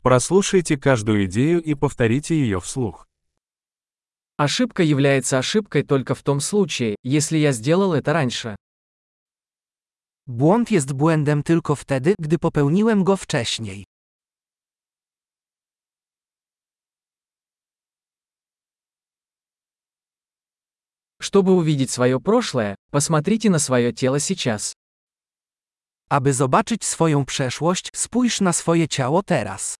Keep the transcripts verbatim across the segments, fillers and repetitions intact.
Прослушайте каждую идею и повторите ее вслух. Ошибка является ошибкой только в том случае, если я сделал это раньше. Błąd jest błędem tylko wtedy, gdy popełniłem go wcześniej. Чтобы увидеть свое прошлое, посмотрите на свое тело сейчас. Aby zobaczyć swoją przeszłość, spójrz na swoje ciało teraz.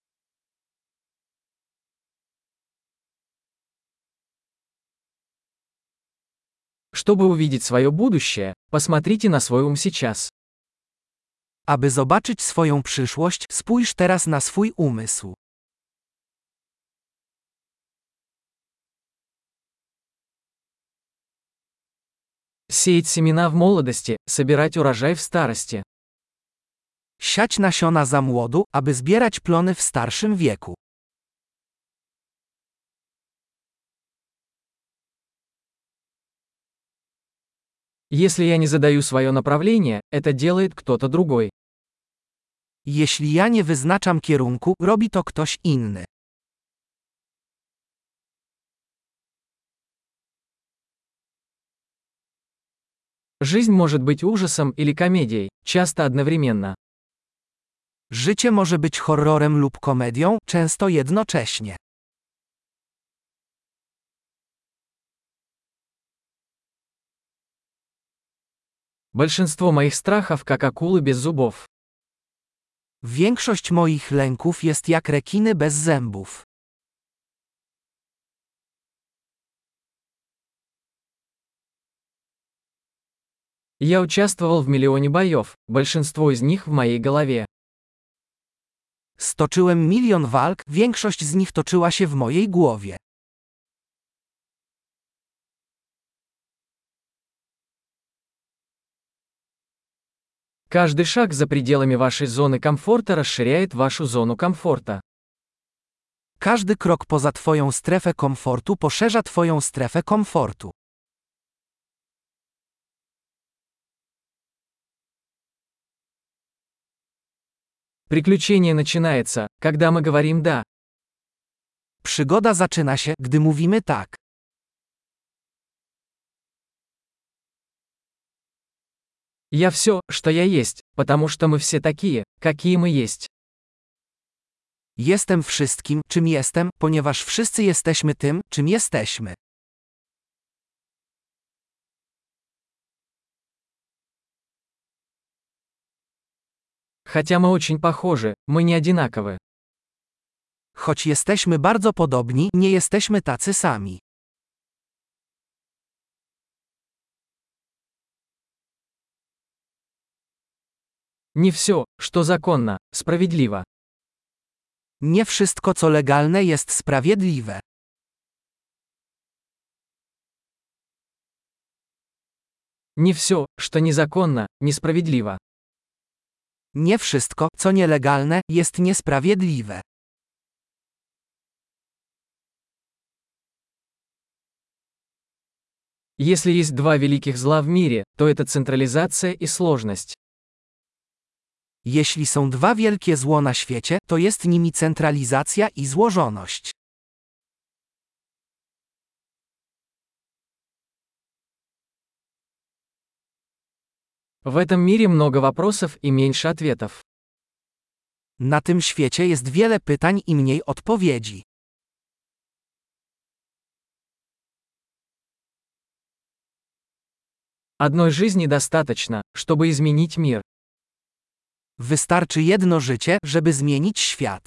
Чтобы увидеть свое будущее, посмотрите на свой ум сейчас. Aby zobaczyć swoją przyszłość, spójrz teraz na swój umysł. Сеять семена в молодости, собирать урожай в старости. Siać nasiona za młodu, aby zbierać plony w starszym wieku. Если я не задаю свое направление, это делает кто-то другой. Jeśli ja nie wyznaczam kierunku, robi to ktoś inny. Жизнь может быть ужасом или комедией, часто одновременно. Życie może być horrorem lub komedią, często jednocześnie. Большинство моих страхов как акулы без зубов. Większość moich lęków jest jak rekiny bez zębów. Я участвовал в миллионе боев, большинство из них в моей голове. Stoczyłem milion walk, większość z nich toczyła się w mojej głowie. Каждый шаг за пределами вашей зоны комфорта расширяет вашу зону комфорта. Każdy krok poza twoją strefę komfortu poszerza twoją strefę komfortu. Приключение начинается, когда мы говорим «да». Przygoda zaczyna się, gdy mówimy tak. Я все, что я есть, потому что мы все такие, какие мы есть. Jestem wszystkim, czym jestem, ponieważ wszyscy jesteśmy tym, czym jesteśmy. Хотя мы очень похожи, мы не одинаковы. Choć jesteśmy bardzo podobni, nie jesteśmy tacy sami. Не все, что законно, справедливо. Nie wszystko, co legalne, jest sprawiedliwe. Не все, что незаконно, несправедливо. Nie wszystko, co nielegalne, jest niesprawiedliwe. Если есть два великих зла в мире, то это централизация и сложность. Jeśli są dwa wielkie zło na świecie, to jest nimi centralizacja i złożoność. В этом мире много вопросов и меньше ответов. Na tym świecie jest wiele pytań i mniej odpowiedzi. Одной жизни достаточно, чтобы изменить мир. Wystarczy jedno życie, żeby zmienić świat.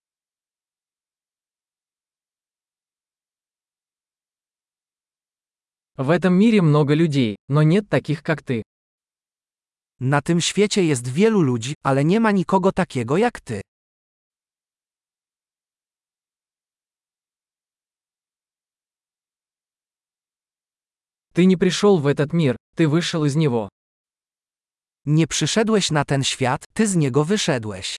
В этом мире много людей, но нет таких, как ты. Na tym świecie jest wielu ludzi, ale nie ma nikogo takiego jak ty. Ты не пришел в этот мир, ты вышел из него. Nie przyszedłeś na ten świat, ty z niego wyszedłeś.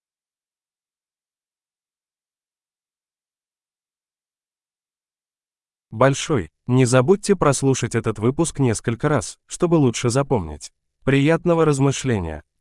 Большой. Не забудьте прослушать этот выпуск несколько раз, чтобы лучше запомнить. Приятного размышления!